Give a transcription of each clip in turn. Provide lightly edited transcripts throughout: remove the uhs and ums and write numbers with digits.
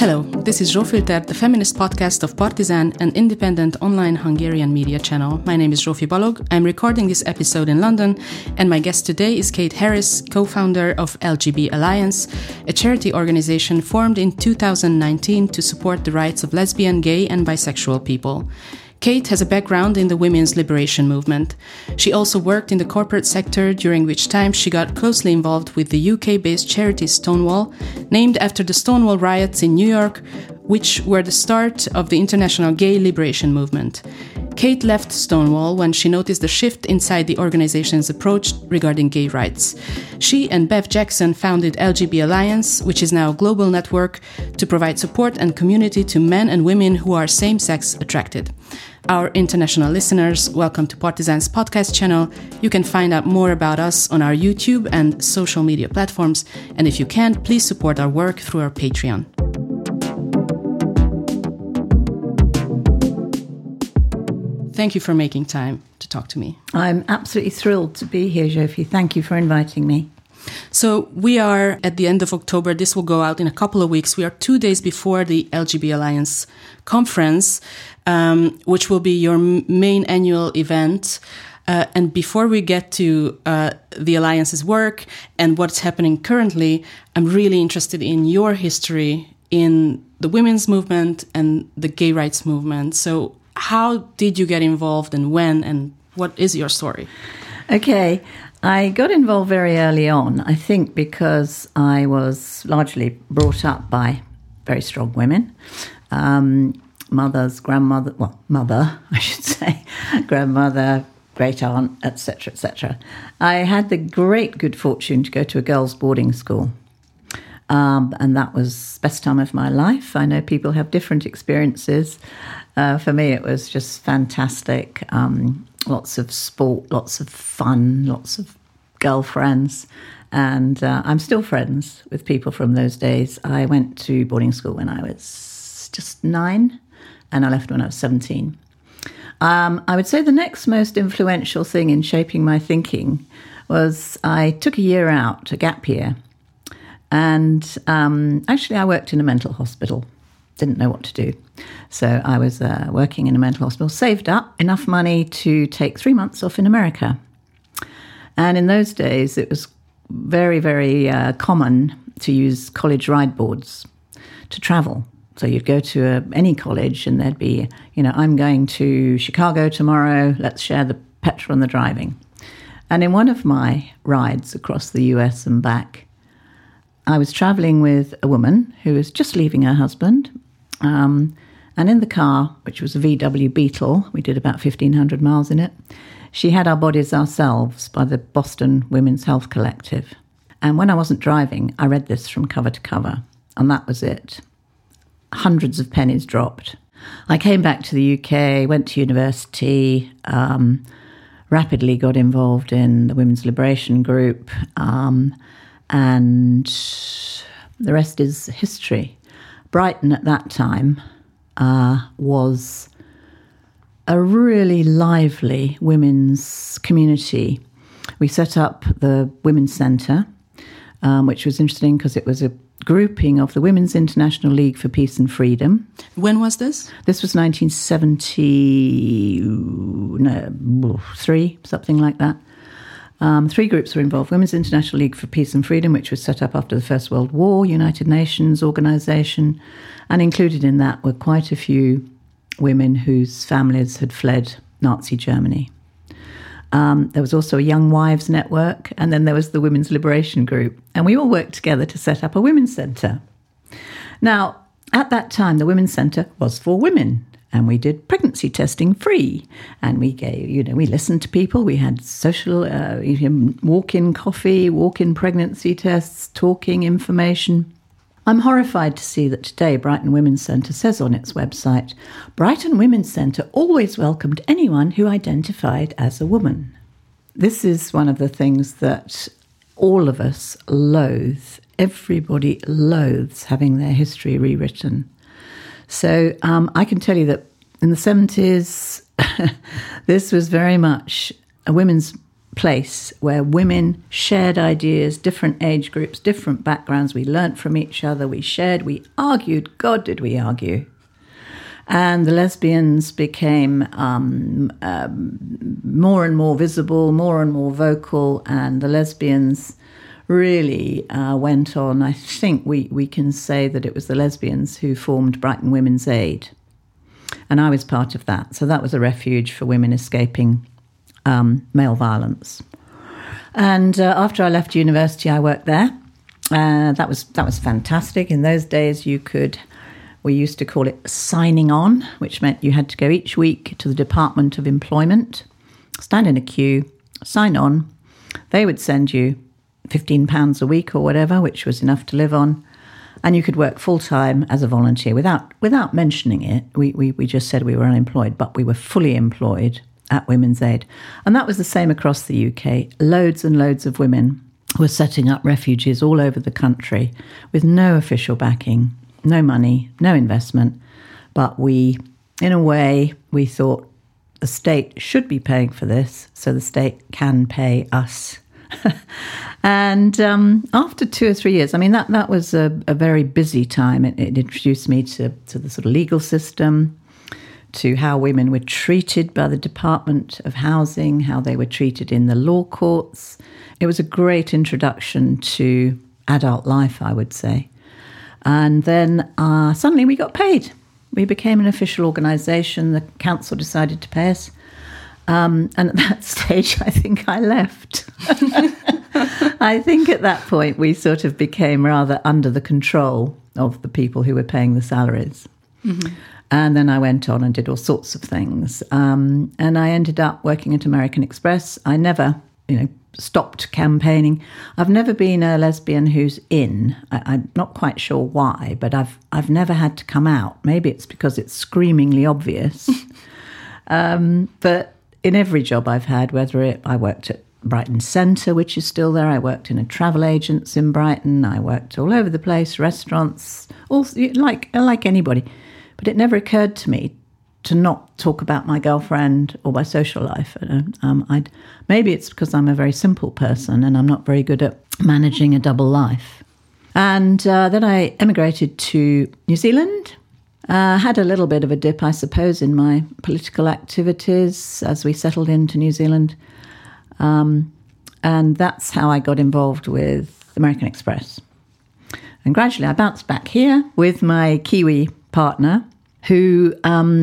Hello, this is Zsófilter, the feminist podcast of Partizan, an independent online Hungarian media channel. My name is Zsófi Balog. I'm recording this episode in London, and my guest today is Kate Harris, co-founder of LGB Alliance, a charity organization formed in 2019 to support the rights of lesbian, gay, and bisexual people. Kate has a background in the women's liberation movement. She also worked in the corporate sector, during which time she got closely involved with the UK-based charity Stonewall, named after the Stonewall riots in New York, which were the start of the international gay liberation movement. Kate left Stonewall when she noticed the shift inside the organization's approach regarding gay rights. She and Bev Jackson founded LGB Alliance, which is now a global network to provide support and community to men and women who are same-sex attracted. Our international listeners, welcome to Partizan's podcast channel. You can find out more about us on our YouTube and social media platforms. And if you can, please support our work through our Patreon. Thank you for making time to talk to me. I'm absolutely thrilled to be here, Zsófi. Thank you for inviting me. So we are at the end of October. This will go out in a couple of weeks. We are 2 days before the LGB Alliance conference, which will be your main annual event. And before we get to the Alliance's work and what's happening currently, I'm really interested in your history in the women's movement and the gay rights movement. So how did you get involved and when, and what is your story? Okay, I got involved very early on, I think because I was largely brought up by very strong women. Mother, I should say, grandmother, great aunt, etc., etc. I had the great good fortune to go to a girls' boarding school. And that was the best time of my life. I know people have different experiences. For me, it was just fantastic. Lots of sport, lots of fun, lots of girlfriends. And I'm still friends with people from those days. I went to boarding school when I was just 9, and I left when I was 17. I would say the next most influential thing in shaping my thinking was I took a year out, a gap year. And actually, I worked in a mental hospital. Didn't know what to do. So I was working in a mental hospital, saved up enough money to take 3 months off in America. And in those days, it was very, very common to use college ride boards to travel. So you'd go to any college and there'd be, I'm going to Chicago tomorrow. Let's share the petrol and the driving. And in one of my rides across the US and back, I was travelling with a woman who was just leaving her husband. And in the car, which was a VW Beetle, we did about 1,500 miles in it, she had Our Bodies Ourselves by the Boston Women's Health Collective. And when I wasn't driving, I read this from cover to cover. And that was it. Hundreds of pennies dropped. I came back to the UK, went to university, rapidly got involved in the Women's Liberation Group, and the rest is history. Brighton at that time was a really lively women's community. We set up the Women's Centre, which was interesting because it was a grouping of the Women's International League for Peace and Freedom. When was this? This was 1973, something like that. 3 groups were involved. Women's International League for Peace and Freedom, which was set up after the First World War, United Nations organisation, and included in that were quite a few women whose families had fled Nazi Germany. There was also a Young Wives Network, and then there was the Women's Liberation Group, and we all worked together to set up a women's centre. Now, at that time, the Women's Centre was for women. And we did pregnancy testing free. And we gave, we listened to people. We had social, walk-in coffee, walk-in pregnancy tests, talking information. I'm horrified to see that today Brighton Women's Centre says on its website, Brighton Women's Centre always welcomed anyone who identified as a woman. This is one of the things that all of us loathe. Everybody loathes having their history rewritten. So I can tell you that in the 70s, this was very much a women's place where women shared ideas, different age groups, different backgrounds. We learnt from each other, we shared, we argued. God, did we argue. And the lesbians became more and more visible, more and more vocal, and the lesbians really went on. I think we can say that it was the lesbians who formed Brighton Women's Aid. And I was part of that. So that was a refuge for women escaping male violence. And after I left university, I worked there. That was fantastic. In those days, we used to call it signing on, which meant you had to go each week to the Department of Employment, stand in a queue, sign on. They would send you £15 a week or whatever, which was enough to live on. And you could work full-time as a volunteer without mentioning it. We just said we were unemployed, but we were fully employed at Women's Aid. And that was the same across the UK. Loads and loads of women were setting up refuges all over the country with no official backing, no money, no investment. But we thought the state should be paying for this, so the state can pay us. And after 2 or 3 years, I mean, that was a very busy time. It introduced me to the sort of legal system, to how women were treated by the Department of Housing, how they were treated in the law courts. It was a great introduction to adult life, I would say. And then suddenly we got paid. We became an official organisation. The council decided to pay us. And at that stage, I think I left. I think at that point, we sort of became rather under the control of the people who were paying the salaries. Mm-hmm. And then I went on and did all sorts of things. And I ended up working at American Express. I never, stopped campaigning. I've never been a lesbian who's in. I'm not quite sure why, but I've never had to come out. Maybe it's because it's screamingly obvious. But in every job I've had, I worked at Brighton Centre, which is still there. I worked in a travel agents in Brighton. I worked all over the place, restaurants, all like anybody. But it never occurred to me to not talk about my girlfriend or my social life. Maybe it's because I'm a very simple person and I'm not very good at managing a double life. And then I emigrated to New Zealand. Had a little bit of a dip, I suppose, in my political activities as we settled into New Zealand. And that's how I got involved with American Express. And gradually I bounced back here with my Kiwi partner, who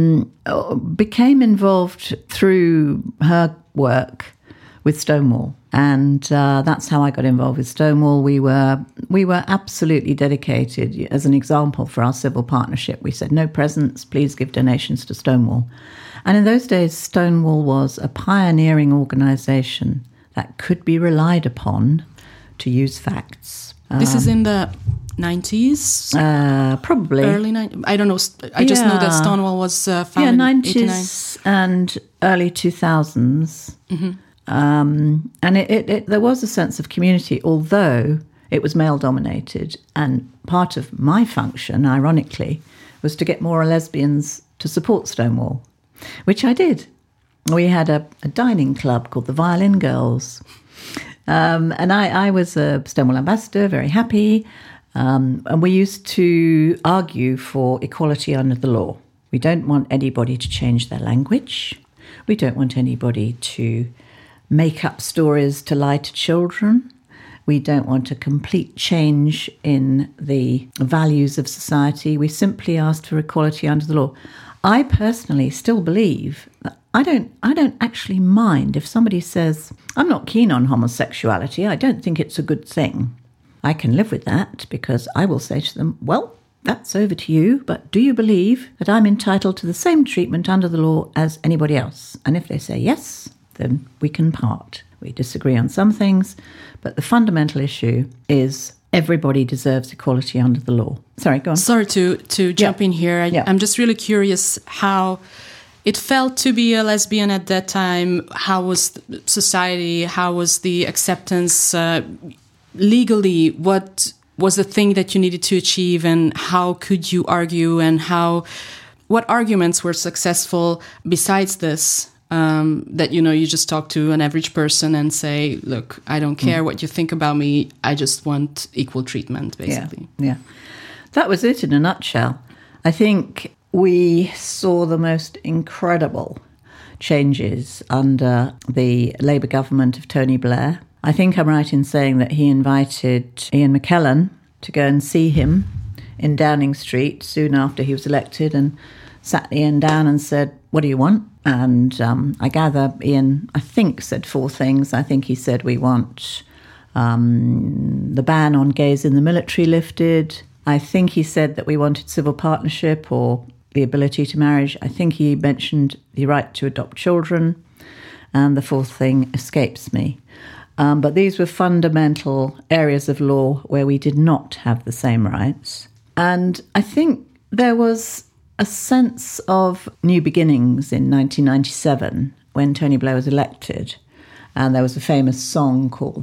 became involved through her work with Stonewall. And that's how I got involved with Stonewall. We were absolutely dedicated. As an example for our civil partnership, we said, no presents, please give donations to Stonewall. And in those days, Stonewall was a pioneering organisation that could be relied upon to use facts. This is in the 90s? Probably. Early 90s? I don't know. I just know that Stonewall was founded in 90s and early 2000s. Mm-hmm. And there was a sense of community, although it was male-dominated. And part of my function, ironically, was to get more lesbians to support Stonewall, which I did. We had a dining club called the Violin Girls. And I was a Stonewall ambassador, very happy. And we used to argue for equality under the law. We don't want anybody to change their language. We don't want anybody to make up stories to lie to children. We don't want a complete change in the values of society. We simply asked for equality under the law. I personally still believe that I don't actually mind if somebody says, I'm not keen on homosexuality. I don't think it's a good thing. I can live with that because I will say to them, well, that's over to you, but do you believe that I'm entitled to the same treatment under the law as anybody else? And if they say yes, then we can part. We disagree on some things, but the fundamental issue is everybody deserves equality under the law. Sorry, go on. Sorry to jump in here. I'm just really curious how it felt to be a lesbian at that time. How was society? How was the acceptance legally? What was the thing that you needed to achieve, and how could you argue, and what arguments were successful besides this? that, you just talk to an average person and say, look, I don't care what you think about me. I just want equal treatment, basically. Yeah. That was it in a nutshell. I think we saw the most incredible changes under the Labour government of Tony Blair. I think I'm right in saying that he invited Ian McKellen to go and see him in Downing Street soon after he was elected, and sat Ian down and said, what do you want? And I gather Ian, I think, said 4 things. I think he said, we want the ban on gays in the military lifted. I think he said that we wanted civil partnership or the ability to marriage. I think he mentioned the right to adopt children. And the 4th thing escapes me. But these were fundamental areas of law where we did not have the same rights. And I think there was a sense of new beginnings in 1997 when Tony Blair was elected. And there was a famous song called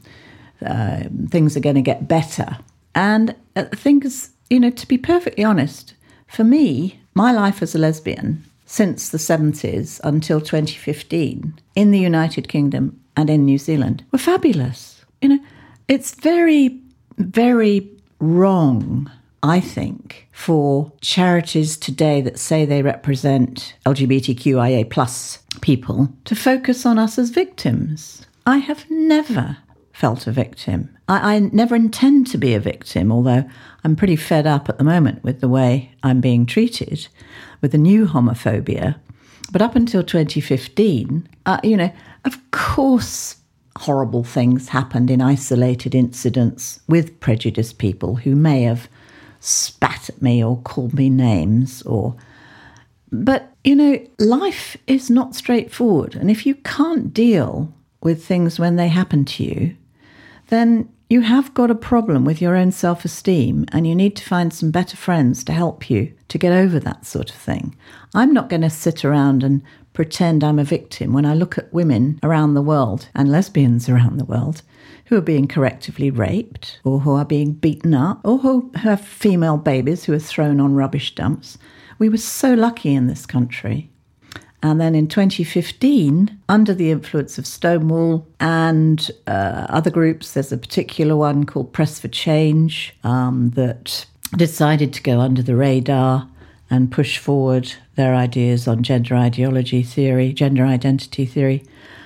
Things Are Going to Get Better. And things, to be perfectly honest, for me, my life as a lesbian since the 70s until 2015 in the United Kingdom and in New Zealand were fabulous. It's very, very wrong, I think, for charities today that say they represent LGBTQIA plus people to focus on us as victims. I have never felt a victim. I never intend to be a victim, although I'm pretty fed up at the moment with the way I'm being treated, with the new homophobia. But up until 2015, of course, horrible things happened in isolated incidents with prejudiced people who may have spat at me or called me names But, life is not straightforward. And if you can't deal with things when they happen to you, then you have got a problem with your own self-esteem and you need to find some better friends to help you to get over that sort of thing. I'm not going to sit around and pretend I'm a victim when I look at women around the world and lesbians around the world who are being correctively raped or who are being beaten up or who have female babies who are thrown on rubbish dumps. We were so lucky in this country. And then in 2015, under the influence of Stonewall and other groups, there's a particular one called Press for Change that decided to go under the radar and push forward their ideas on gender identity theory.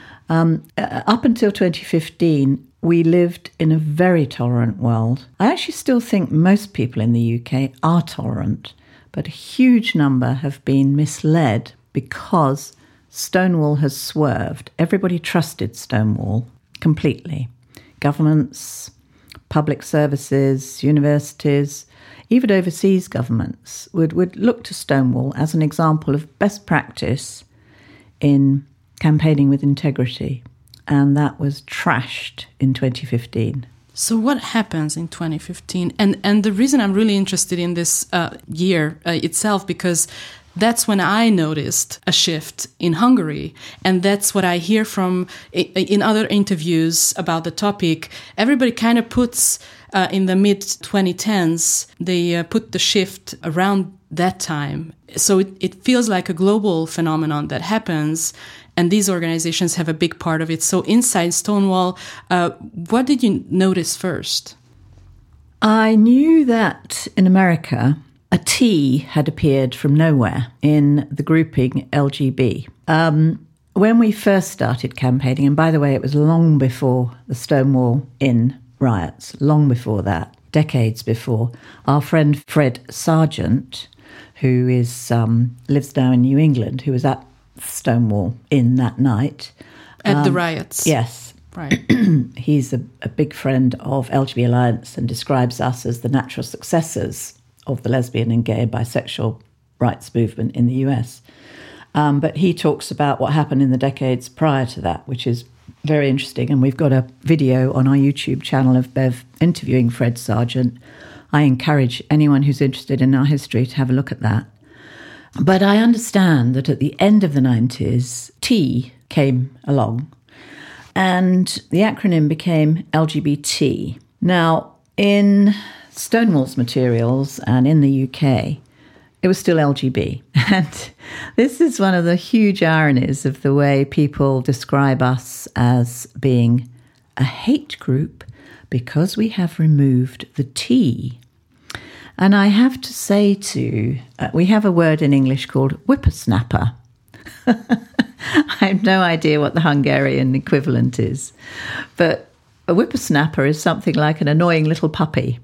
Up until 2015, we lived in a very tolerant world. I actually still think most people in the UK are tolerant, but a huge number have been misled because Stonewall has swerved. Everybody trusted Stonewall completely. Governments, public services, universities, even overseas governments would look to Stonewall as an example of best practice in campaigning with integrity. And that was trashed in 2015. So what happens in 2015? And the reason I'm really interested in this year itself, because that's when I noticed a shift in Hungary. And that's what I hear from in other interviews about the topic. Everybody kind of puts in the mid-2010s, they put the shift around that time. So it feels like a global phenomenon that happens. And these organizations have a big part of it. So inside Stonewall, what did you notice first? I knew that in America, a T had appeared from nowhere in the grouping LGB. When we first started campaigning, and by the way, it was long before the Stonewall Inn riots, long before that, decades before, our friend Fred Sargent, who is lives now in New England, who was at Stonewall Inn that night. At the riots? Yes. Right. He's a big friend of LGBT Alliance and describes us as the natural successors of the lesbian and gay and bisexual rights movement in the US. But he talks about what happened in the decades prior to that, which is very interesting. And we've got a video on our YouTube channel of Bev interviewing Fred Sargent. I encourage anyone who's interested in our history to have a look at that. But I understand that at the end of the 90s, T came along and the acronym became LGBT. Now, in Stonewall's materials and in the UK, it was still LGB. And this is one of the huge ironies of the way people describe us as being a hate group because we have removed the T. And I have to say we have a word in English called whippersnapper. I have no idea what the Hungarian equivalent is, but a whippersnapper is something like an annoying little puppy.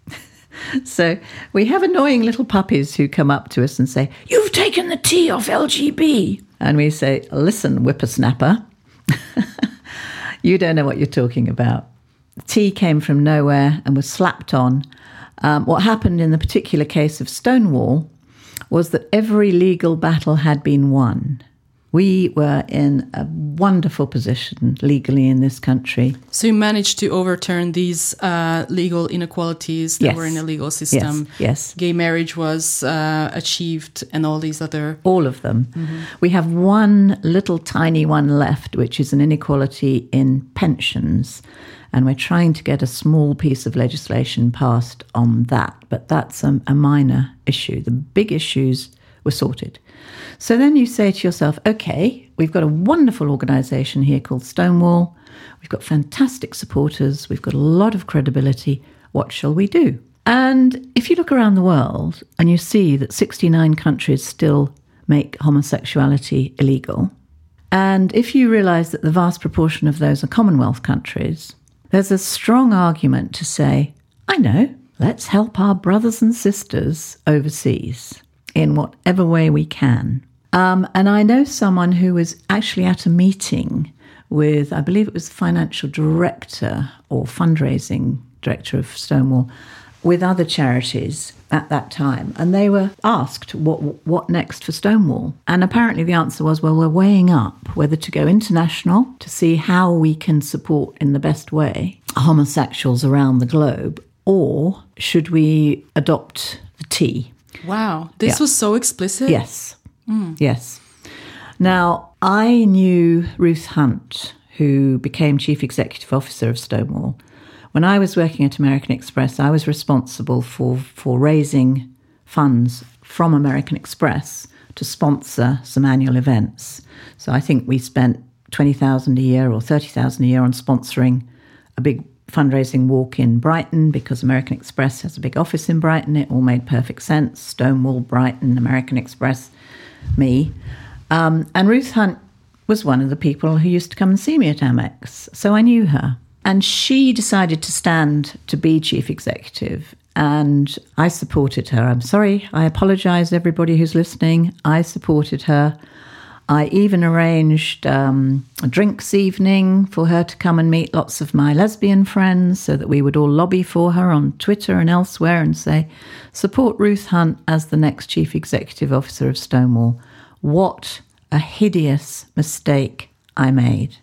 So we have annoying little puppies who come up to us and say, "You've taken the T off LGB." And we say, "Listen, whippersnapper, you don't know what you're talking about. The T came from nowhere and was slapped on. What happened in the particular case of Stonewall was that every legal battle had been won. We were in a wonderful position legally in this country." So you managed to overturn these legal inequalities that were in the legal system. Yes. Gay marriage was achieved and all these other... All of them. Mm-hmm. We have one little tiny one left, which is an inequality in pensions. And we're trying to get a small piece of legislation passed on that. But that's a minor issue. The big issues were sorted. So then you say to yourself, okay, we've got a wonderful organisation here called Stonewall. We've got fantastic supporters. We've got a lot of credibility. What shall we do? And if you look around the world and you see that 69 countries still make homosexuality illegal, and if you realise that the vast proportion of those are Commonwealth countries, there's a strong argument to say, I know, let's help our brothers and sisters overseas in whatever way we can. And I know someone who was actually at a meeting with, I believe it was the financial director or fundraising director of Stonewall, with other charities at that time. And they were asked, what next for Stonewall? And apparently the answer was, well, we're weighing up whether to go international to see how we can support in the best way homosexuals around the globe, or should we adopt the T? Wow, this was so explicit. Yes, yes. Now, I knew Ruth Hunt, who became Chief Executive Officer of Stonewall. When I was working at American Express, I was responsible for raising funds from American Express to sponsor some annual events. So I think we spent $20,000 a year or $30,000 a year on sponsoring a big fundraising walk in Brighton, because American Express has a big office in Brighton. It all made perfect sense. Stonewall, Brighton, American Express, me. And Ruth Hunt was one of the people who used to come and see me at Amex. So I knew her. And she decided to stand to be chief executive. And I supported her. I'm sorry, I apologise, everybody who's listening. I supported her. I even arranged a drinks evening for her to come and meet lots of my lesbian friends so that we would all lobby for her on Twitter and elsewhere and say, support Ruth Hunt as the next Chief Executive Officer of Stonewall. What a hideous mistake I made.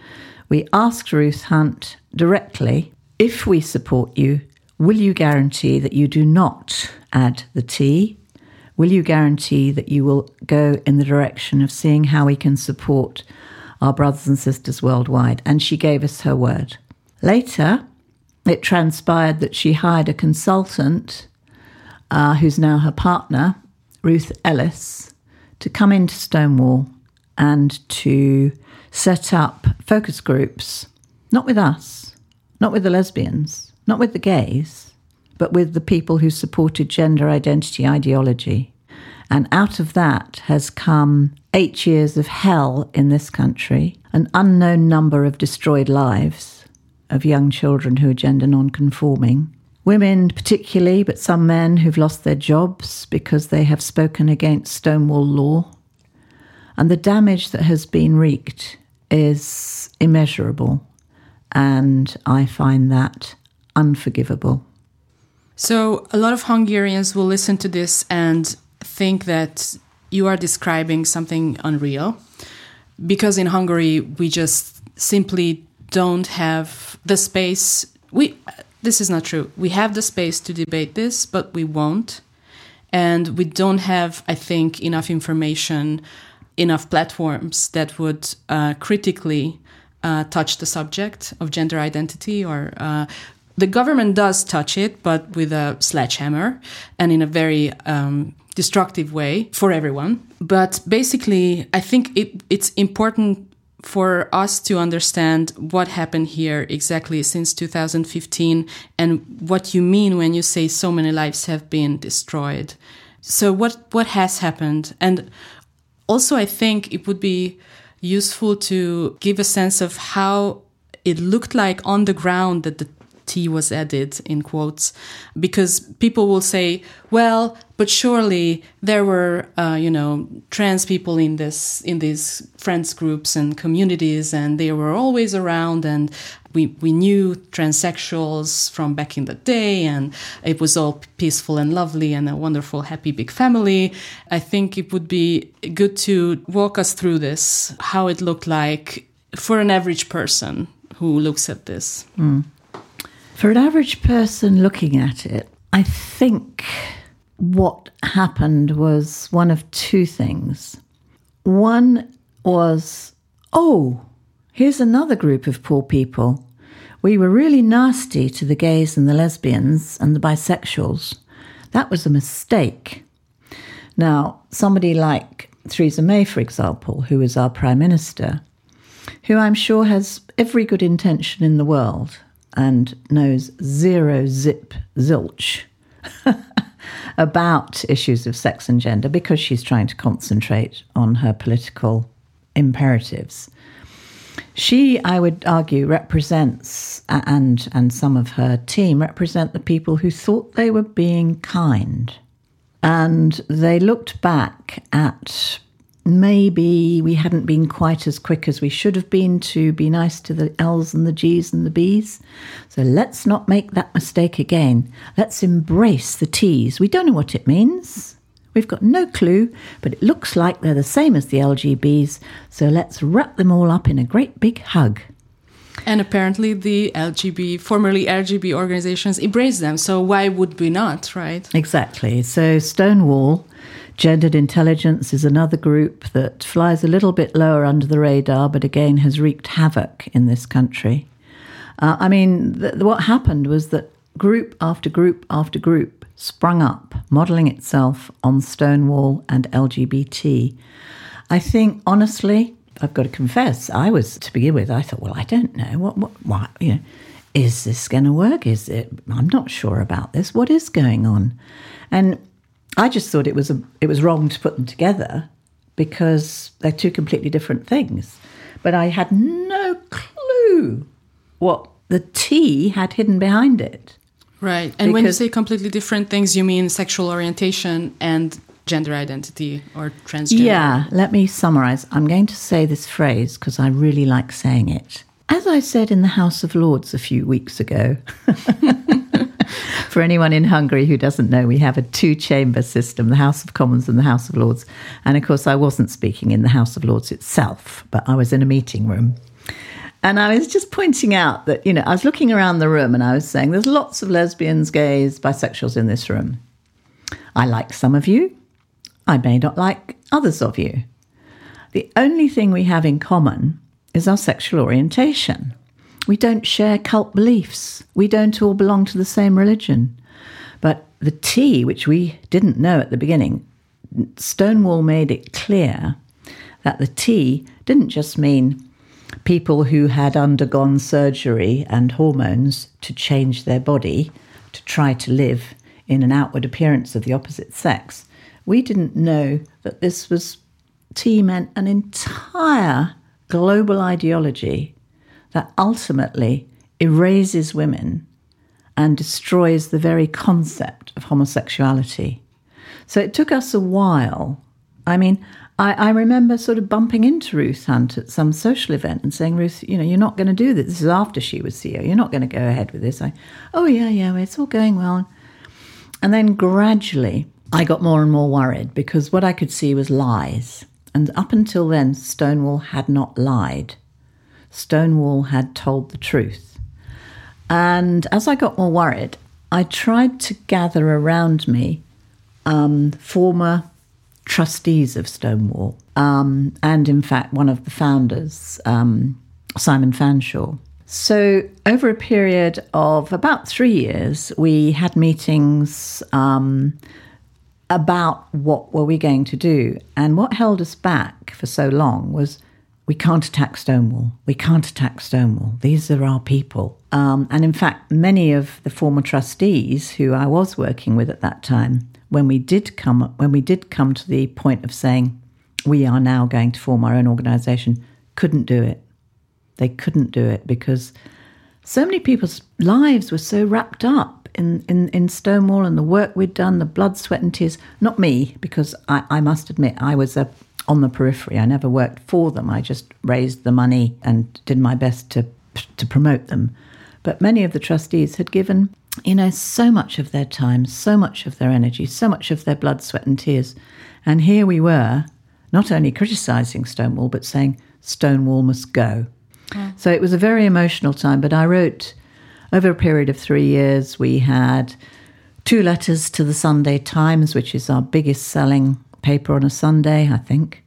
We asked Ruth Hunt directly, if we support you, will you guarantee that you do not add the T? Will you guarantee that you will go in the direction of seeing how we can support our brothers and sisters worldwide? And she gave us her word. Later, it transpired that she hired a consultant, who's now her partner, Ruth Ellis, to come into Stonewall and to set up focus groups, not with us, not with the lesbians, not with the gays, but with the people who supported gender identity ideology. And out of that has come 8 years of hell in this country, an unknown number of destroyed lives of young children who are gender non-conforming, women particularly, but some men who've lost their jobs because they have spoken against Stonewall law. And the damage that has been wreaked is immeasurable, and I find that unforgivable. So a lot of Hungarians will listen to this and think that you are describing something unreal, because in Hungary we just simply don't have the space. This is not true. We have the space to debate this, but we won't. And we don't have, I think, enough information, enough platforms that would critically touch the subject of gender identity. Or the government does touch it, but with a sledgehammer and in a very destructive way for everyone. But basically, I think it's important for us to understand what happened here exactly since 2015 and what you mean when you say so many lives have been destroyed. So what has happened? And also, I think it would be useful to give a sense of how it looked like on the ground that the tea was added, in quotes, because people will say, well, but surely there were, trans people in these friends groups and communities, and they were always around, and we knew transsexuals from back in the day, and it was all peaceful and lovely and a wonderful, happy, big family. I think it would be good to walk us through this, how it looked like for an average person who looks at this. For an average person looking at it, I think what happened was one of two things. One was, oh, here's another group of poor people. We were really nasty to the gays and the lesbians and the bisexuals. That was a mistake. Now, somebody like Theresa May, for example, who is our Prime Minister, who I'm sure has every good intention in the world and knows zero zip zilch about issues of sex and gender because she's trying to concentrate on her political imperatives. She, I would argue, represents, and some of her team represent the people who thought they were being kind. And they looked back at maybe we hadn't been quite as quick as we should have been to be nice to the L's and the G's and the B's. So let's not make that mistake again. Let's embrace the T's. We don't know what it means. We've got no clue, but it looks like they're the same as the LGBs. So let's wrap them all up in a great big hug. And apparently the formerly LGB organizations embrace them. So why would we not, right? Exactly. So Stonewall, Gendered Intelligence, is another group that flies a little bit lower under the radar, but again has wreaked havoc in this country. What happened was that group after group after group sprung up, modelling itself on Stonewall and LGBT. I think, honestly, I've got to confess, I thought, well, I don't know, what is this going to work? I'm not sure about this. What is going on? And I just thought it was wrong to put them together because they're two completely different things. But I had no clue what the T had hidden behind it. Right. And when you say completely different things, you mean sexual orientation and gender identity or transgender? Yeah, let me summarize. I'm going to say this phrase because I really like saying it. As I said in the House of Lords a few weeks ago, for anyone in Hungary who doesn't know, we have a two-chamber system, the House of Commons and the House of Lords. And of course, I wasn't speaking in the House of Lords itself, but I was in a meeting room. And I was just pointing out that, I was looking around the room and I was saying, there's lots of lesbians, gays, bisexuals in this room. I like some of you. I may not like others of you. The only thing we have in common is our sexual orientation. We don't share cult beliefs. We don't all belong to the same religion. But the T, which we didn't know at the beginning, Stonewall made it clear that the T didn't just mean people who had undergone surgery and hormones to change their body to try to live in an outward appearance of the opposite sex. We didn't know that T meant an entire global ideology that ultimately erases women and destroys the very concept of homosexuality. So it took us a while. I remember sort of bumping into Ruth Hunt at some social event and saying, Ruth, you're not going to do this. This is after she was CEO. You're not going to go ahead with this. Yeah, it's all going well. And then gradually I got more and more worried because what I could see was lies. And up until then, Stonewall had not lied. Stonewall had told the truth. And as I got more worried, I tried to gather around me former trustees of Stonewall, and in fact one of the founders, Simon Fanshawe. So over a period of about 3 years, we had meetings about what were we going to do. And what held us back for so long was, we can't attack Stonewall. We can't attack Stonewall. These are our people. And in fact, many of the former trustees who I was working with at that time, when we did come to the point of saying, we are now going to form our own organisation, couldn't do it. They couldn't do it because so many people's lives were so wrapped up in Stonewall and the work we'd done, the blood, sweat and tears. Not me, because I must admit I was on the periphery. I never worked for them. I just raised the money and did my best to promote them. But many of the trustees had given, so much of their time, so much of their energy, so much of their blood, sweat and tears. And here we were, not only criticising Stonewall, but saying Stonewall must go. Yeah. So it was a very emotional time, but I wrote, over a period of 3 years, we had 2 letters to the Sunday Times, which is our biggest selling paper on a Sunday, I think.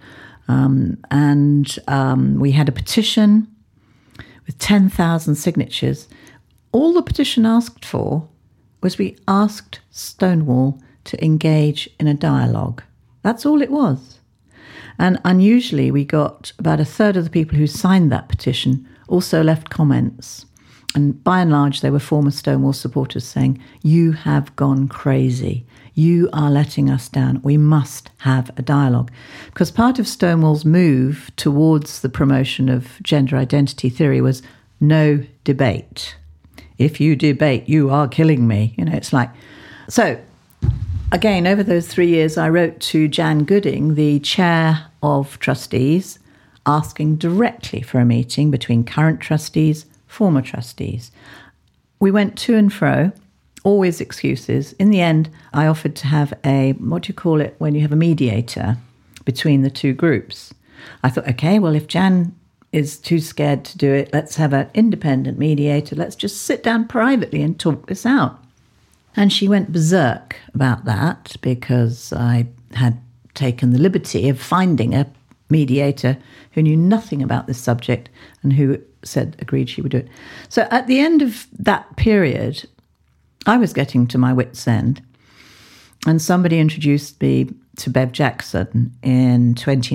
We had a petition with 10,000 signatures. All the petition asked for was we asked Stonewall to engage in a dialogue. That's all it was. And unusually, we got about a third of the people who signed that petition also left comments. And by and large, they were former Stonewall supporters saying, you have gone crazy. You are letting us down. We must have a dialogue. Because part of Stonewall's move towards the promotion of gender identity theory was no debate. If you debate, you are killing me. It's like... So, again, over those 3 years, I wrote to Jan Gooding, the chair of trustees, asking directly for a meeting between current trustees, former trustees. We went to and fro, always excuses. In the end, I offered to have what do you call it when you have a mediator between the two groups? I thought, okay, well, if Jan is too scared to do it, let's have an independent mediator. Let's just sit down privately and talk this out. And she went berserk about that because I had taken the liberty of finding a mediator who knew nothing about this subject and who agreed she would do it. So at the end of that period, I was getting to my wit's end, and somebody introduced me to Bev Jackson in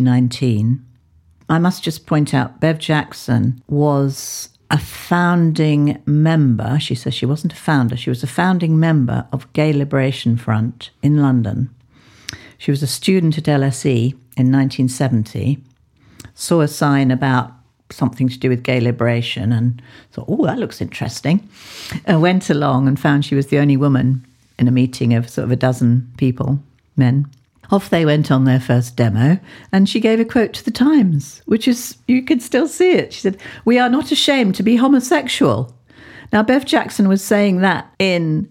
2019. I must just point out, Bev Jackson was a founding member. She says she wasn't a founder. She was a founding member of Gay Liberation Front in London. She was a student at LSE in 1970, saw a sign about something to do with gay liberation and thought, oh, that looks interesting. Went along and found she was the only woman in a meeting of sort of a dozen people, men. Off they went on their first demo, and she gave a quote to the Times, which is, you can still see it. She said, "We are not ashamed to be homosexual." Now, Bev Jackson was saying that in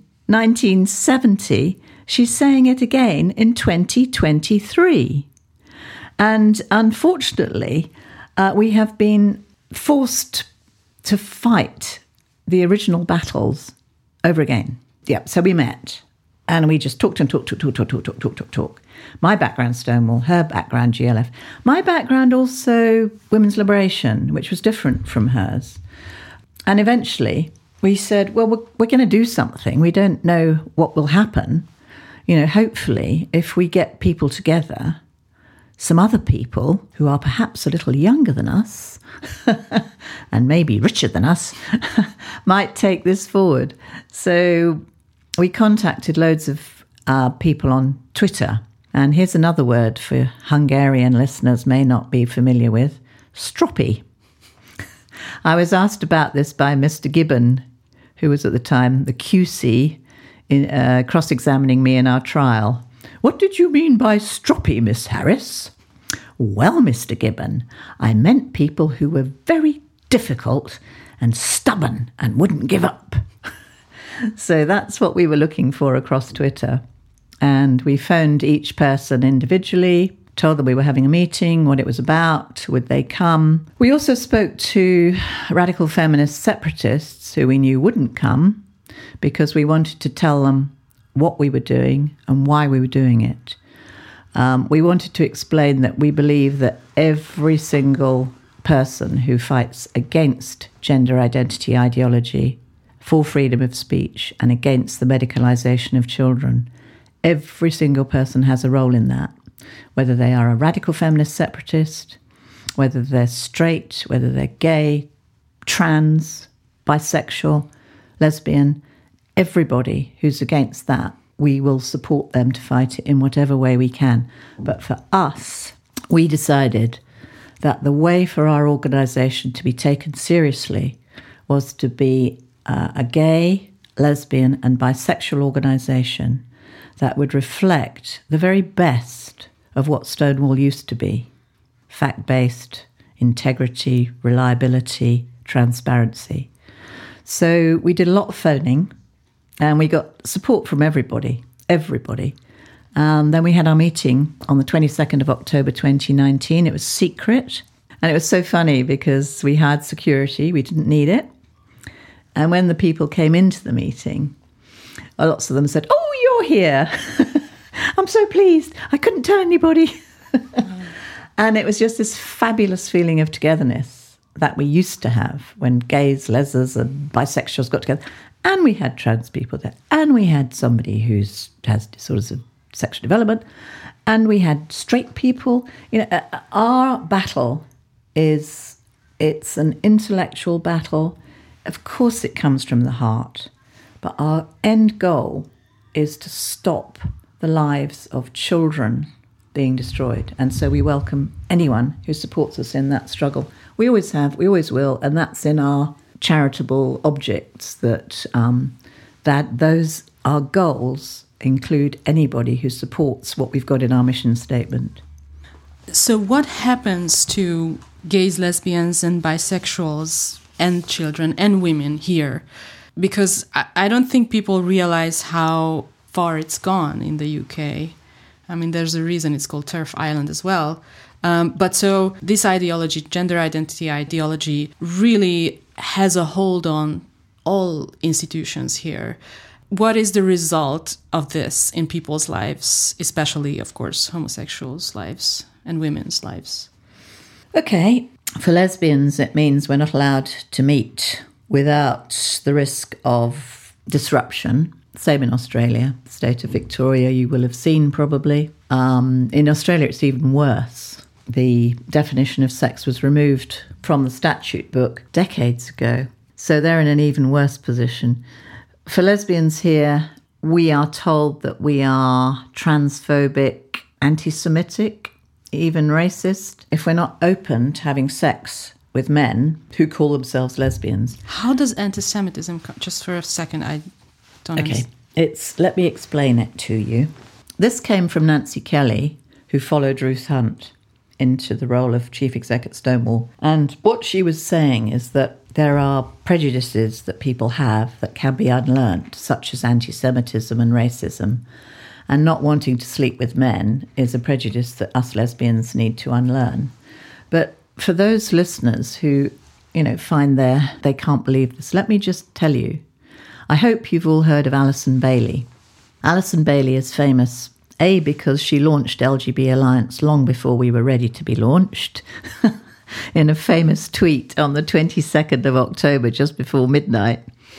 1970. She's saying it again in 2023. And unfortunately, we have been forced to fight the original battles over again. Yeah, so we met and we just talked and talked. My background, Stonewall, her background, GLF. My background also, women's liberation, which was different from hers. And eventually we said, well, we're going to do something. We don't know what will happen. Hopefully, if we get people together, some other people who are perhaps a little younger than us and maybe richer than us might take this forward. So we contacted loads of people on Twitter. And here's another word for Hungarian listeners may not be familiar with, stroppy. I was asked about this by Mr. Gibbon, who was at the time the QC, cross-examining me in our trial. "What did you mean by stroppy, Miss Harris?" "Well, Mr. Gibbon, I meant people who were very difficult and stubborn and wouldn't give up." So that's what we were looking for across Twitter. And we phoned each person individually, told them we were having a meeting, what it was about, would they come. We also spoke to radical feminist separatists who we knew wouldn't come, because we wanted to tell them what we were doing and why we were doing it. We wanted to explain that we believe that every single person who fights against gender identity ideology, for freedom of speech, and against the medicalisation of children Every single person has a role in that, whether they are a radical feminist separatist, whether they're straight, whether they're gay, trans, bisexual, lesbian. Everybody who's against that, we will support them to fight it in whatever way we can. But for us, we decided that the way for our organisation to be taken seriously was to be a gay, lesbian and bisexual organisation that would reflect the very best of what Stonewall used to be: fact-based, integrity, reliability, transparency. So we did a lot of phoning and we got support from everybody. Then we had our meeting on the 22nd of October 2019. It was secret. And it was so funny because we had security. We didn't need it. And when the people came into the meeting, lots of them said, "Oh, you're here. I'm so pleased. I couldn't tell anybody." And it was just this fabulous feeling of togetherness that we used to have when gays, lesers and bisexuals got together. And we had trans people there. And we had somebody who has disorders of sexual development. And we had straight people. Our battle it's an intellectual battle. Of course it comes from the heart. But our end goal is to stop the lives of children being destroyed. And so we welcome anyone who supports us in that struggle. We always have, we always will, and that's in our charitable objects that those our goals include anybody who supports what we've got in our mission statement. So what happens to gays, lesbians and bisexuals and children and women here? Because I don't think people realize how far it's gone in the UK. I mean, there's a reason it's called TERF Island as well. But so this ideology, gender identity ideology, really has a hold on all institutions here. What is the result of this in people's lives, especially, of course, homosexuals' lives and women's lives? Okay, for lesbians, it means we're not allowed to meet without the risk of disruption. Same in Australia, the state of Victoria, you will have seen probably. In Australia, it's even worse. The definition of sex was removed from the statute book decades ago. So they're in an even worse position. For lesbians here, we are told that we are transphobic, anti-Semitic, even racist, if we're not open to having sex with men who call themselves lesbians. How does anti-Semitism come? Just for a second, I don't understand. Let me explain it to you. This came from Nancy Kelly, who followed Ruth Hunt into the role of chief exec at Stonewall. And what she was saying is that there are prejudices that people have that can be unlearned, such as anti-Semitism and racism. And not wanting to sleep with men is a prejudice that us lesbians need to unlearn. But for those listeners who, find they can't believe this, let me just tell you, I hope you've all heard of Alison Bailey. Alison Bailey is famous, A, because she launched LGB Alliance long before we were ready to be launched, in a famous tweet on the 22nd of October, just before midnight,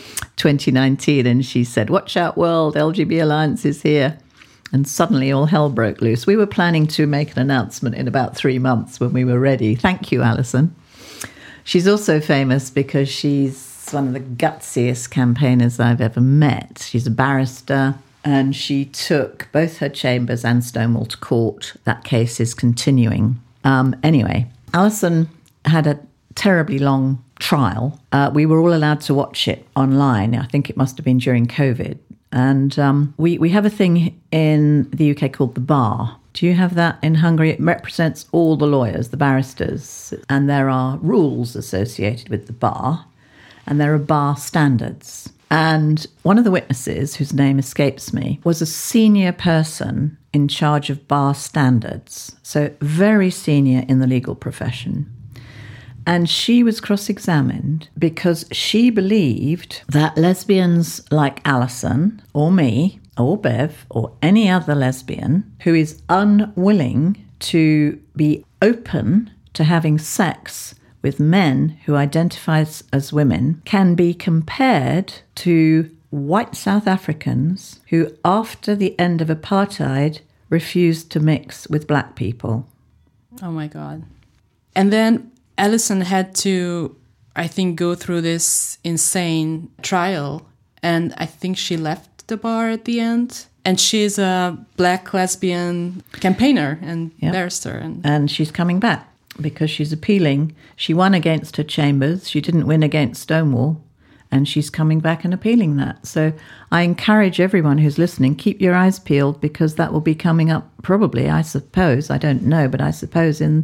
2019. And she said, "Watch out, world, LGB Alliance is here." And suddenly all hell broke loose. We were planning to make an announcement in about 3 months when we were ready. Thank you, Alison. She's also famous because she's one of the gutsiest campaigners I've ever met. She's a barrister, and she took both her chambers and Stonewall to court. That case is continuing. Anyway, Alison had a terribly long trial. We were all allowed to watch it online. I think it must have been during COVID. And we have a thing in the UK called the bar. Do you have that in Hungary? It represents all the lawyers, the barristers. And there are rules associated with the bar. And there are bar standards. And one of the witnesses, whose name escapes me, was a senior person in charge of bar standards. So very senior in the legal profession. And she was cross-examined because she believed that lesbians like Alison or me or Bev or any other lesbian who is unwilling to be open to having sex with men who identify as women can be compared to white South Africans who, after the end of apartheid, refused to mix with black people. Oh my God. And then Alison had to, I think, go through this insane trial. And I think she left the bar at the end. And she's a black lesbian campaigner and barrister. And she's coming back because she's appealing. She won against her chambers. She didn't win against Stonewall. And she's coming back and appealing that. So I encourage everyone who's listening, keep your eyes peeled, because that will be coming up probably, I suppose, I don't know, but I suppose in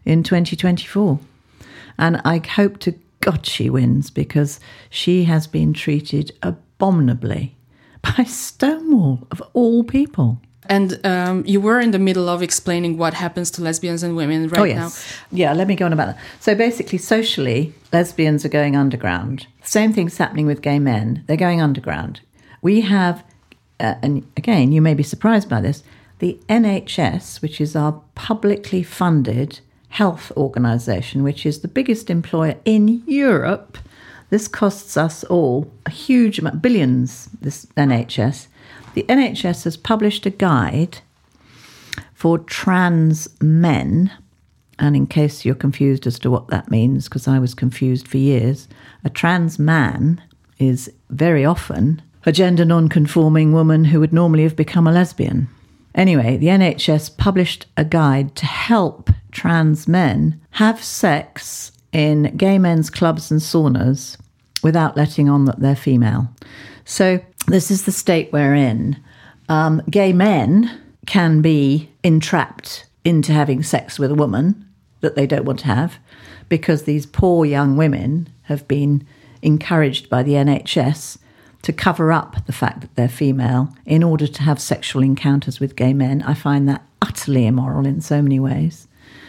2024. And I hope to God she wins, because she has been treated abominably by Stonewall, of all people. And you were in the middle of explaining what happens to lesbians and women right now. Yeah, let me go on about that. So basically, socially, lesbians are going underground. Same thing's happening with gay men. They're going underground. We have, and again, you may be surprised by this, the NHS, which is our publicly funded health organisation, which is the biggest employer in Europe. This costs us all a huge amount, billions, this NHS. The NHS has published a guide for trans men, and in case you're confused as to what that means, because I was confused for years, a trans man is very often a gender non-conforming woman who would normally have become a lesbian. Anyway, the NHS published a guide to help trans men have sex in gay men's clubs and saunas without letting on that they're female. So this is the state we're in. Gay men can be entrapped into having sex with a woman that they don't want to have, because these poor young women have been encouraged by the NHS to cover up the fact that they're female in order to have sexual encounters with gay men. I find that utterly immoral in so many ways.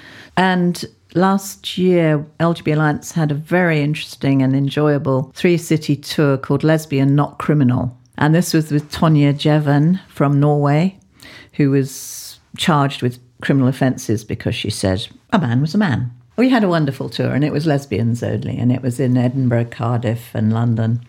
And last year, LGB Alliance had a very interesting and enjoyable 3-city tour called Lesbian Not Criminal. And this was with Tonje Jeven from Norway, who was charged with criminal offences because she said a man was a man. We had a wonderful tour, and it was lesbians only, and it was in Edinburgh, Cardiff and London.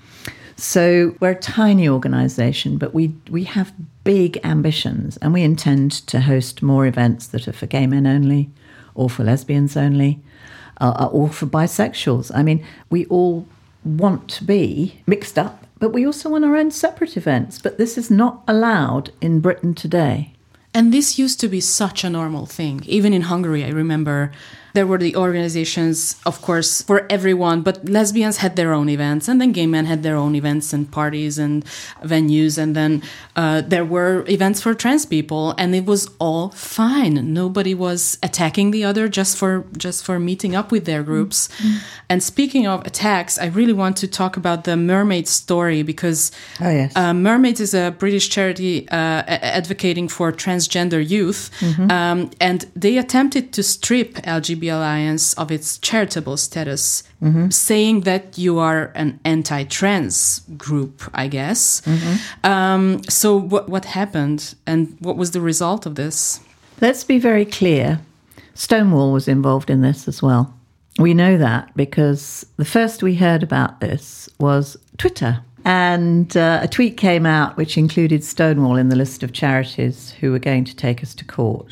So we're a tiny organisation, but we have big ambitions, and we intend to host more events that are for gay men only, or for lesbians only, or for bisexuals. I mean, we all want to be mixed up, but we also want our own separate events. But this is not allowed in Britain today. And this used to be such a normal thing. Even in Hungary, I remember there were the organizations, of course, for everyone, but lesbians had their own events, and then gay men had their own events and parties and venues, and then there were events for trans people, and it was all fine. Nobody was attacking the other just for meeting up with their groups. Mm-hmm. And speaking of attacks, I really want to talk about the Mermaid story, because Mermaids is a British charity advocating for transgender youth, mm-hmm. And they attempted to strip LGB Alliance of its charitable status, mm-hmm. saying that you are an anti-trans group, I guess. Mm-hmm. So what happened, and what was the result of this? Let's be very clear. Stonewall was involved in this as well. We know that because the first we heard about this was Twitter. And a tweet came out which included Stonewall in the list of charities who were going to take us to court.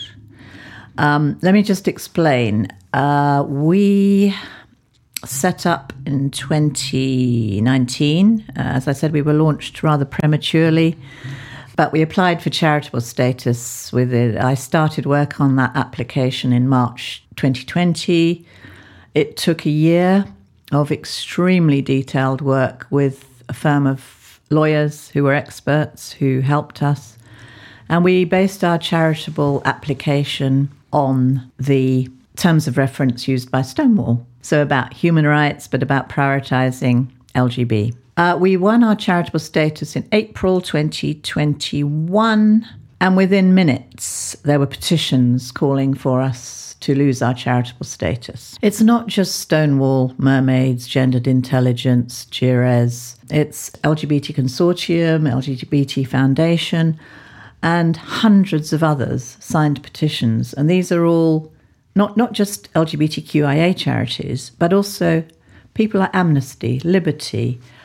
Let me just explain. We set up in 2019. As I said, we were launched rather prematurely, but we applied for charitable status with it. I started work on that application in March 2020. It took a year of extremely detailed work with a firm of lawyers who were experts who helped us. And we based our charitable application on the terms of reference used by Stonewall. So about human rights, but about prioritising LGB. We won our charitable status in April 2021. And within minutes, there were petitions calling for us to lose our charitable status. It's not just Stonewall, Mermaids, Gendered Intelligence, GIRES. It's LGBT Consortium, LGBT Foundation, and hundreds of others signed petitions. And these are all not just LGBTQIA charities, but also people like Amnesty, Liberty,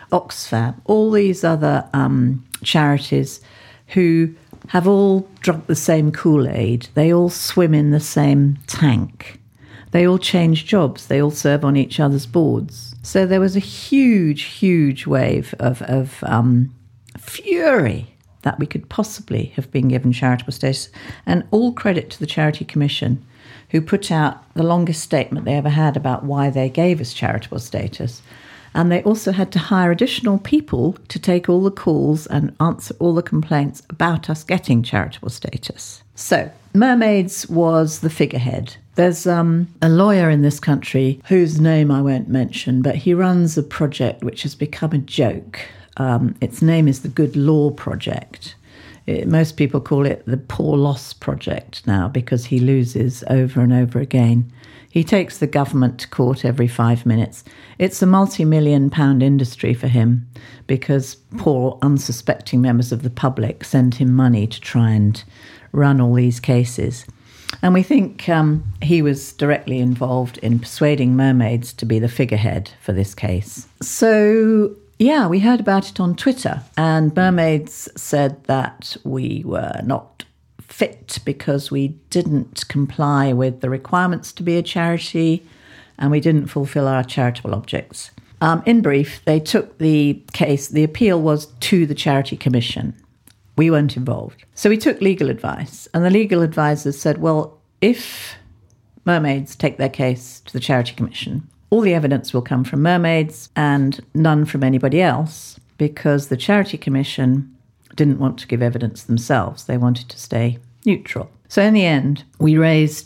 Oxfam, all these other charities who have all drunk the same Kool-Aid. They all swim in the same tank. They all change jobs. They all serve on each other's boards. So there was a huge, huge wave of fury that we could possibly have been given charitable status. And all credit to the Charity Commission, who put out the longest statement they ever had about why they gave us charitable status. And they also had to hire additional people to take all the calls and answer all the complaints about us getting charitable status. So Mermaids was the figurehead. There's a lawyer in this country whose name I won't mention, but he runs a project which has become a joke. Its name is the Good Law Project. Most people call it the Poor Loss Project now because he loses over and over again. He takes the government to court every 5 minutes. It's a multi-million-pound industry for him because poor, unsuspecting members of the public send him money to try and run all these cases. And we think he was directly involved in persuading Mermaids to be the figurehead for this case. So, yeah, we heard about it on Twitter, and Mermaids said that we were not fit because we didn't comply with the requirements to be a charity and we didn't fulfill our charitable objects. In brief, they took the case, the appeal was to the Charity Commission. We weren't involved. So we took legal advice, and the legal advisors said, well, if Mermaids take their case to the Charity Commission, all the evidence will come from Mermaids and none from anybody else, because the Charity Commission didn't want to give evidence themselves. They wanted to stay neutral. So in the end, we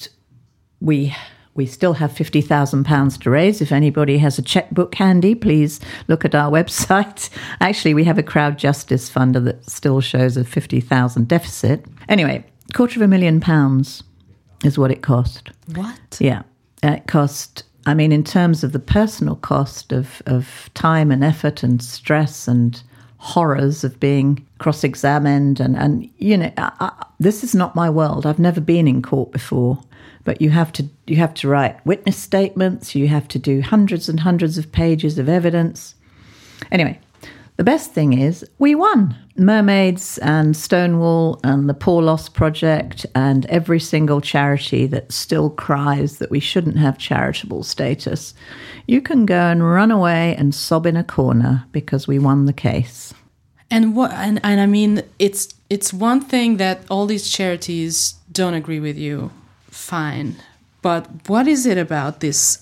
still have £50,000 to raise. If anybody has a checkbook handy, please look at our website. Actually, we have a crowd justice fund that still shows a 50,000 deficit. Anyway, £250,000 is what it cost. What? Yeah. It cost, I mean, in terms of the personal cost of time and effort and stress and horrors of being cross-examined and you know, this is not my world. I've never been in court before, but you have to write witness statements. You have to do hundreds and hundreds of pages of evidence. Anyway, the best thing is we won. Mermaids and Stonewall and the Poor Loss Project and every single charity that still cries that we shouldn't have charitable status. You can go and run away and sob in a corner because we won the case. And I mean, it's one thing that all these charities don't agree with you. Fine. But what is it about this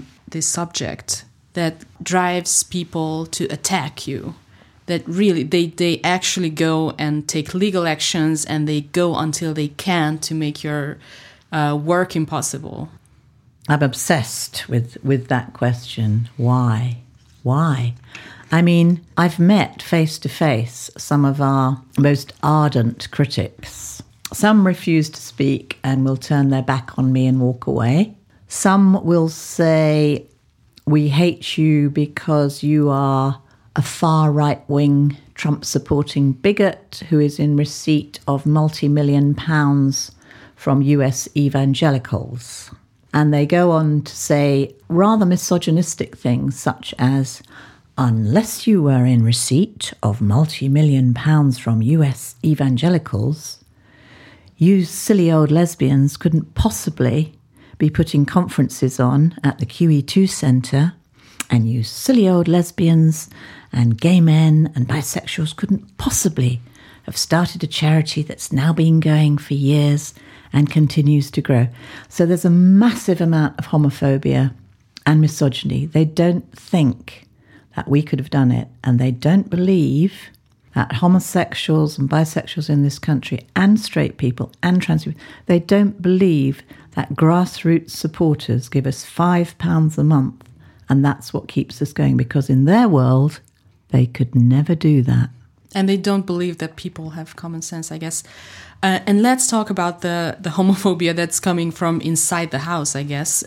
subject that drives people to attack you? That really, they actually go and take legal actions and they go until they can to make your work impossible. I'm obsessed with that question. Why? Why? I mean, I've met face-to-face some of our most ardent critics. Some refuse to speak and will turn their back on me and walk away. Some will say, we hate you because you are a far right-wing Trump-supporting bigot who is in receipt of multi-million pounds from US evangelicals. And they go on to say rather misogynistic things such as, unless you were in receipt of multi-million pounds from US evangelicals, you silly old lesbians couldn't possibly be putting conferences on at the QE2 Centre, and you silly old lesbians and gay men and bisexuals couldn't possibly have started a charity that's now been going for years and continues to grow. So there's a massive amount of homophobia and misogyny. They don't think that we could have done it, and they don't believe that homosexuals and bisexuals in this country and straight people and trans people, they don't believe that grassroots supporters give us £5 a month and that's what keeps us going, because in their world, they could never do that. And they don't believe that people have common sense, I guess. And let's talk about the homophobia that's coming from inside the house, I guess.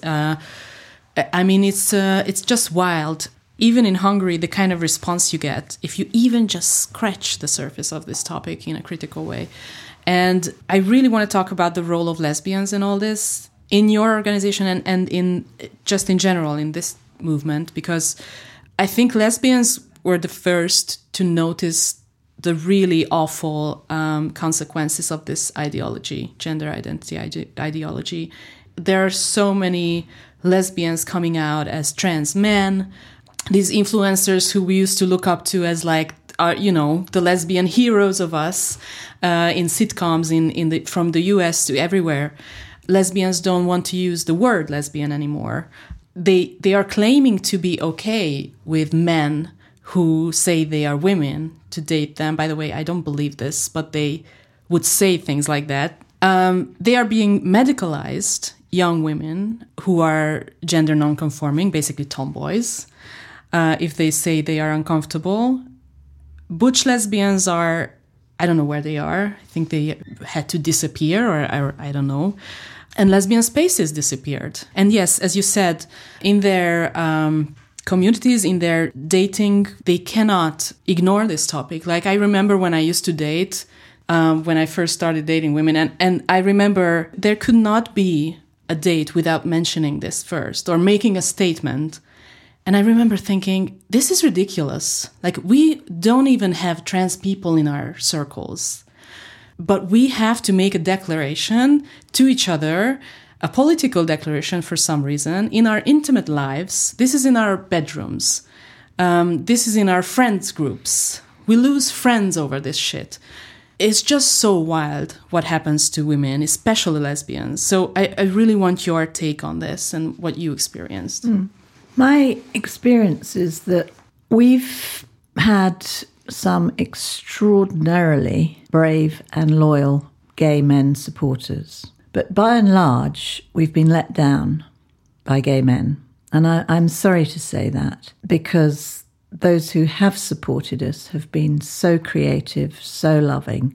I mean, it's just wild. Even in Hungary, the kind of response you get if you even just scratch the surface of this topic in a critical way. And I really want to talk about the role of lesbians in all this, in your organization and in just in general in this movement, because I think lesbians were the first to notice the really awful consequences of this ideology, gender identity ideology. There are so many lesbians coming out as trans men, these influencers who we used to look up to as like, the lesbian heroes of us in sitcoms from the US to everywhere. Lesbians don't want to use the word lesbian anymore. They are claiming to be okay with men who say they are women to date them. By the way, I don't believe this, but they would say things like that. They are being medicalized, young women who are gender non-conforming, basically tomboys, if they say they are uncomfortable. Butch lesbians are, I don't know where they are. I think they had to disappear, or I don't know. And lesbian spaces disappeared. And yes, as you said, in their communities, in their dating, they cannot ignore this topic. Like, I remember when I used to date, when I first started dating women, and I remember there could not be a date without mentioning this first or making a statement. And I remember thinking, this is ridiculous. Like, we don't even have trans people in our circles. But we have to make a declaration to each other, a political declaration for some reason, in our intimate lives. This is in our bedrooms. This is in our friends groups. We lose friends over this shit. It's just so wild what happens to women, especially lesbians. So I really want your take on this and what you experienced. My experience is that we've had some extraordinarily brave and loyal gay men supporters. But by and large, we've been let down by gay men. And I'm sorry to say that, because those who have supported us have been so creative, so loving,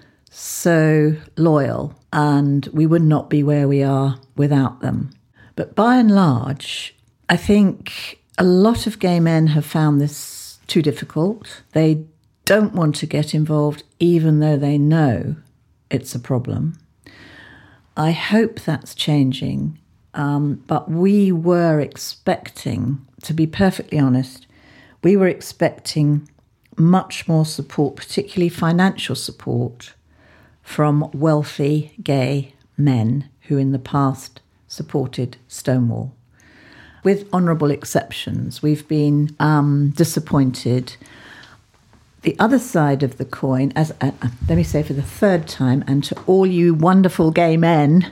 so loyal, and we would not be where we are without them. But by and large, I think a lot of gay men have found this too difficult. They don't want to get involved even though they know it's a problem. I hope that's changing, but we were expecting, to be perfectly honest, we were expecting much more support, particularly financial support, from wealthy gay men who in the past supported Stonewall. With honourable exceptions, we've been disappointed. The other side of the coin, let me say for the third time, and to all you wonderful gay men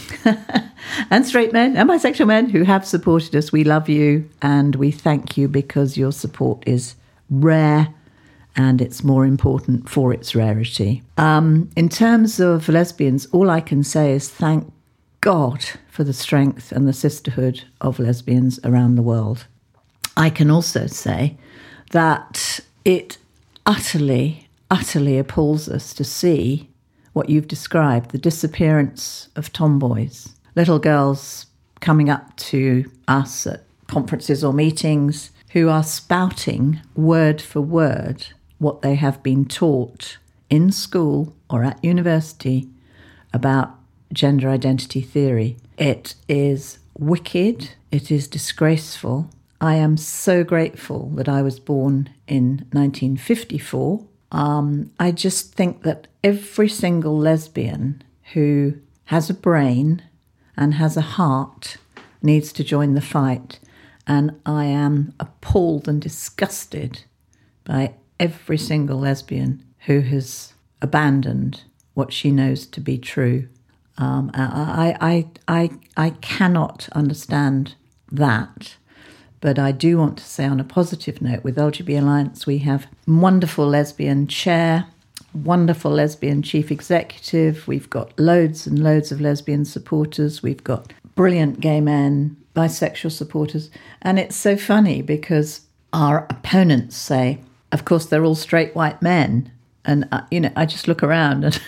and straight men and bisexual men who have supported us, we love you and we thank you, because your support is rare and it's more important for its rarity. In terms of lesbians, all I can say is thank God for the strength and the sisterhood of lesbians around the world. I can also say that it utterly, utterly appalls us to see what you've described, the disappearance of tomboys, little girls coming up to us at conferences or meetings who are spouting word for word what they have been taught in school or at university about gender identity theory. It is wicked. It is disgraceful. I am so grateful that I was born in 1954. I just think that every single lesbian who has a brain and has a heart needs to join the fight. And I am appalled and disgusted by every single lesbian who has abandoned what she knows to be true. I cannot understand that. But I do want to say on a positive note, with LGB Alliance, we have wonderful lesbian chair, wonderful lesbian chief executive. We've got loads and loads of lesbian supporters. We've got brilliant gay men, bisexual supporters. And it's so funny because our opponents say, of course, they're all straight white men. And, I just look around and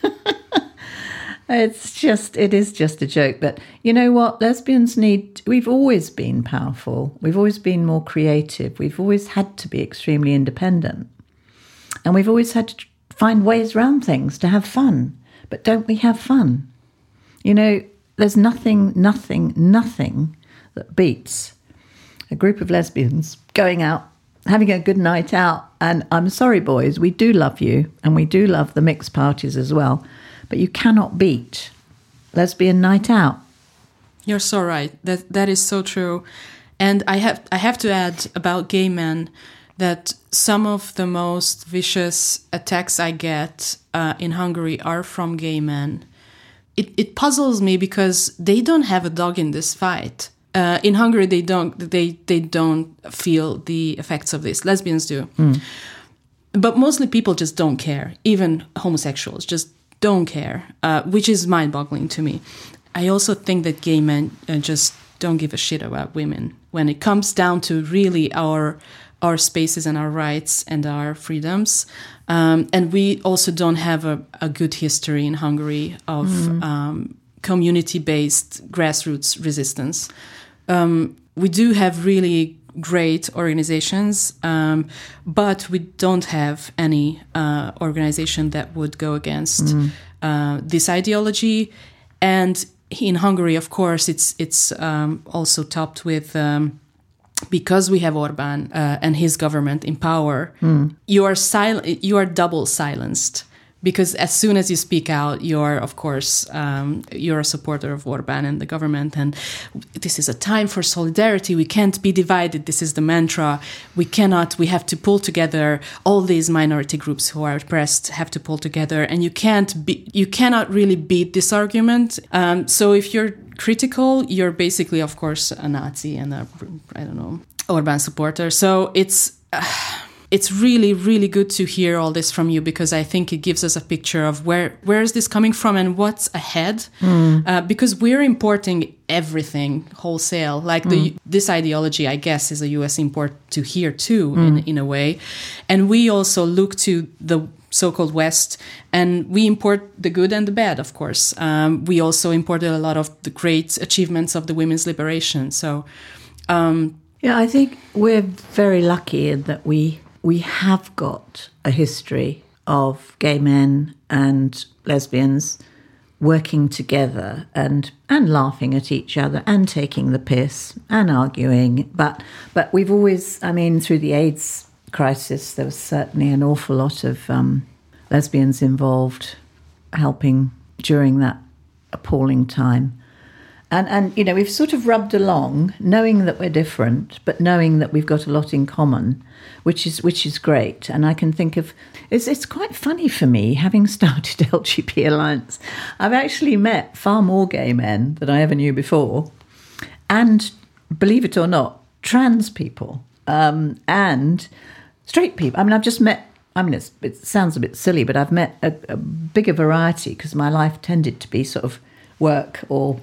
it is just a joke. But you know what? Lesbians we've always been powerful. We've always been more creative. We've always had to be extremely independent. And we've always had to find ways around things to have fun. But don't we have fun? There's nothing that beats a group of lesbians going out having a good night out. And I'm sorry, boys, we do love you, and we do love the mixed parties as well, but you cannot beat lesbian night out. You're so right. That is so true. And I have to add about gay men that some of the most vicious attacks I get in Hungary are from gay men. It puzzles me because they don't have a dog in this fight. In Hungary, they don't feel the effects of this. Lesbians do. But mostly people just don't care. Even homosexuals just don't care, which is mind-boggling to me. I also think that gay men just don't give a shit about women when it comes down to really our spaces and our rights and our freedoms. And we also don't have a good history in Hungary of community-based grassroots resistance. We do have really great organizations, but we don't have any organization that would go against this ideology. And in Hungary, of course, it's also topped with because we have Orbán and his government in power. You are double silenced, because as soon as you speak out, you're of course you're a supporter of Orbán and the government. And this is a time for solidarity. We can't be divided. This is the mantra. We have to pull together. All these minority groups who are oppressed have to pull together, and you cannot really beat this argument. So if you're critical, you're basically, of course, a Nazi and Orbán supporter. So it's really, really good to hear all this from you, because I think it gives us a picture of where is this coming from and what's ahead. Because we're importing everything wholesale. Like this ideology, I guess, is a US import to here too, in a way. And we also look to the so-called West, and we import the good and the bad, of course. We also imported a lot of the great achievements of the women's liberation. So, yeah, I think we're very lucky in that we have got a history of gay men and lesbians working together and laughing at each other and taking the piss and arguing. But we've always, through the AIDS crisis, there was certainly an awful lot of lesbians involved helping during that appalling time. And we've sort of rubbed along, knowing that we're different, but knowing that we've got a lot in common, which is great. And I can think of, it's quite funny for me, having started LGBT Alliance, I've actually met far more gay men than I ever knew before, and, believe it or not, trans people, and straight people. I've just met, it sounds a bit silly, but I've met a bigger variety, because my life tended to be sort of work or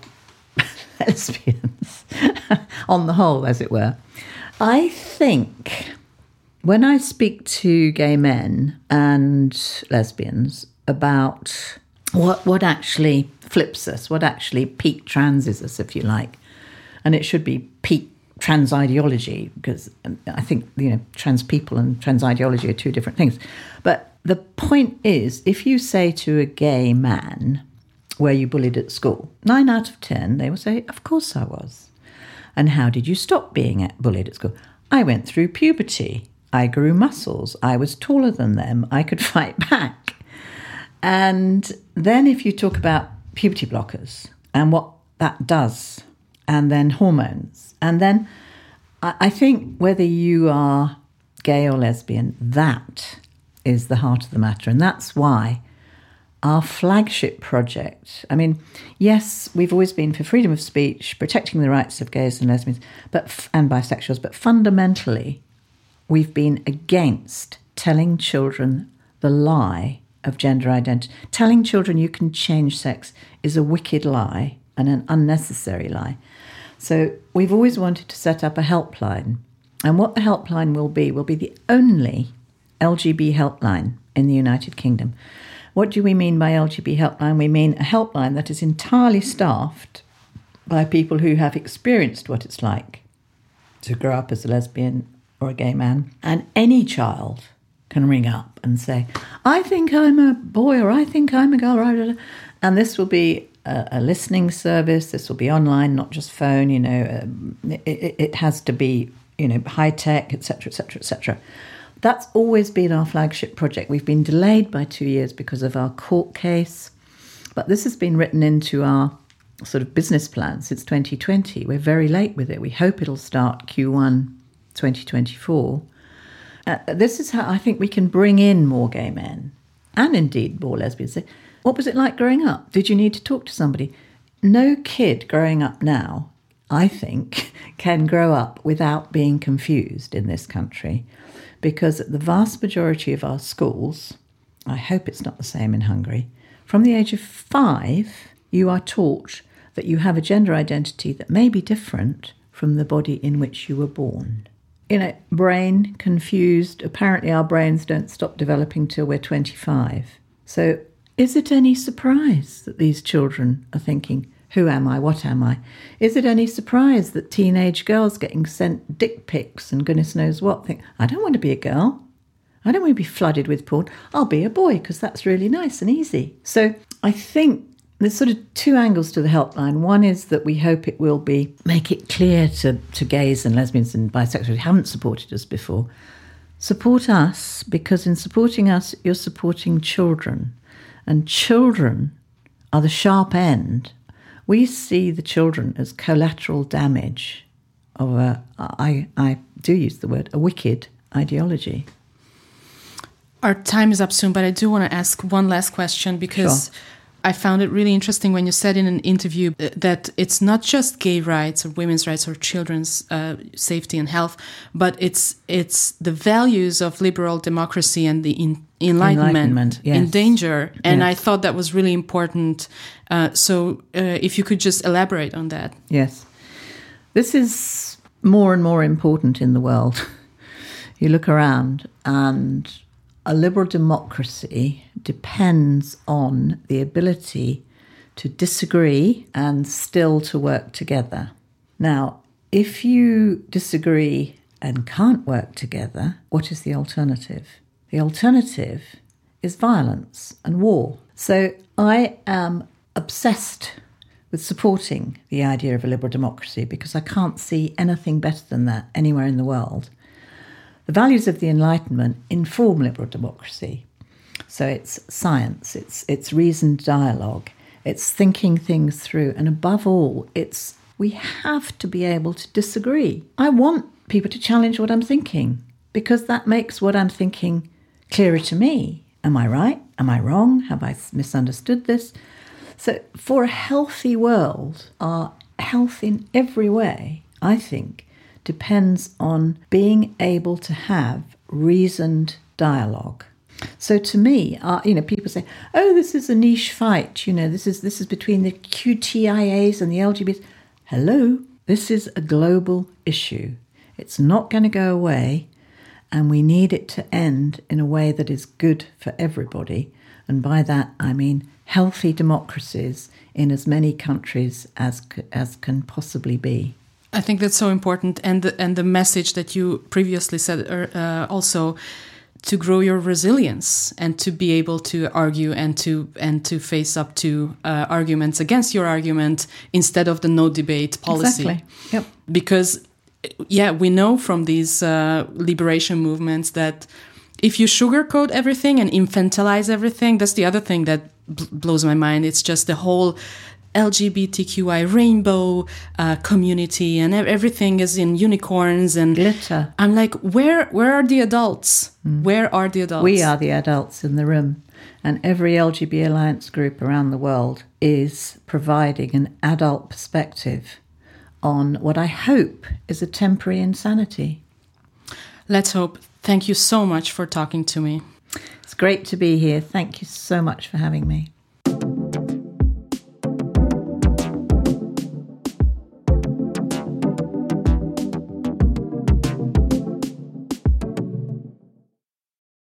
lesbians, on the whole, as it were. I think when I speak to gay men and lesbians about what actually flips us, what actually peak transes us, if you like, and it should be peak trans ideology, because I think, trans people and trans ideology are two different things. But the point is, if you say to a gay man, were you bullied at school? 9 out of 10, they will say, of course I was. And how did you stop being bullied at school? I went through puberty. I grew muscles. I was taller than them. I could fight back. And then if you talk about puberty blockers and what that does, and then hormones, and then I think whether you are gay or lesbian, that is the heart of the matter. And that's why our flagship project, yes, we've always been for freedom of speech, protecting the rights of gays and lesbians and bisexuals, but fundamentally, we've been against telling children the lie of gender identity. Telling children you can change sex is a wicked lie and an unnecessary lie. So we've always wanted to set up a helpline. And what the helpline will be the only LGB helpline in the United Kingdom. What do we mean by LGB helpline? We mean a helpline that is entirely staffed by people who have experienced what it's like to grow up as a lesbian or a gay man. And any child can ring up and say, I think I'm a boy, or I think I'm a girl. And this will be a listening service. This will be online, not just phone. It has to be, high tech, etc., etc., etc. That's always been our flagship project. We've been delayed by 2 years because of our court case, but this has been written into our sort of business plan since 2020. We're very late with it. We hope it'll start Q1 2024. This is how I think we can bring in more gay men and indeed more lesbians. What was it like growing up? Did you need to talk to somebody? No kid growing up now, I think, can grow up without being confused in this country, because the vast majority of our schools, I hope it's not the same in Hungary, from the age of 5, you are taught that you have a gender identity that may be different from the body in which you were born. Brain confused. Apparently our brains don't stop developing till we're 25. So is it any surprise that these children are thinking, who am I? What am I? Is it any surprise that teenage girls getting sent dick pics and goodness knows what think, I don't want to be a girl. I don't want to be flooded with porn. I'll be a boy because that's really nice and easy. So I think there's sort of 2 angles to the helpline. One is that we hope it will make it clear to gays and lesbians and bisexuals who haven't supported us before, support us, because in supporting us, you're supporting children. And children are the sharp end. We see the children as collateral damage of I do use the word, a wicked ideology. Our time is up soon, but I do want to ask one last question because Sure. I found it really interesting when you said in an interview that it's not just gay rights or women's rights or children's safety and health, but it's the values of liberal democracy and the enlightenment yes. in danger. And Yes. I thought that was really important. So if you could just elaborate on that. Yes. This is more and more important in the world. You look around and a liberal democracy depends on the ability to disagree and still to work together. Now, if you disagree and can't work together, what is the alternative? The alternative is violence and war. So I am obsessed with supporting the idea of a liberal democracy because I can't see anything better than that anywhere in the world. The values of the Enlightenment inform liberal democracy. So it's science, it's reasoned dialogue, it's thinking things through, and above all, we have to be able to disagree. I want people to challenge what I'm thinking because that makes what I'm thinking clearer to me. Am I right? Am I wrong? Have I misunderstood this? So for a healthy world, our health in every way, I think, depends on being able to have reasoned dialogue. So to me, people say, "Oh, this is a niche fight. This is between the QTIAs and the LGBTs." Hello, this is a global issue. It's not going to go away, and we need it to end in a way that is good for everybody. And by that, I mean healthy democracies in as many countries as can possibly be. I think that's so important, and the message that you previously said also, to grow your resilience and to be able to argue and to face up to arguments against your argument instead of the no debate policy. Exactly. Yep. Because we know from these liberation movements that if you sugarcoat everything and infantilize everything, that's the other thing that blows my mind. It's just the whole LGBTQI rainbow community, and everything is in unicorns and glitter. I'm like, where are the adults? Where are the adults? We are the adults in the room, and every LGBT Alliance group around the world is providing an adult perspective on what I hope is a temporary insanity. Let's hope. Thank you so much for talking to me. It's great to be here. Thank you so much for having me.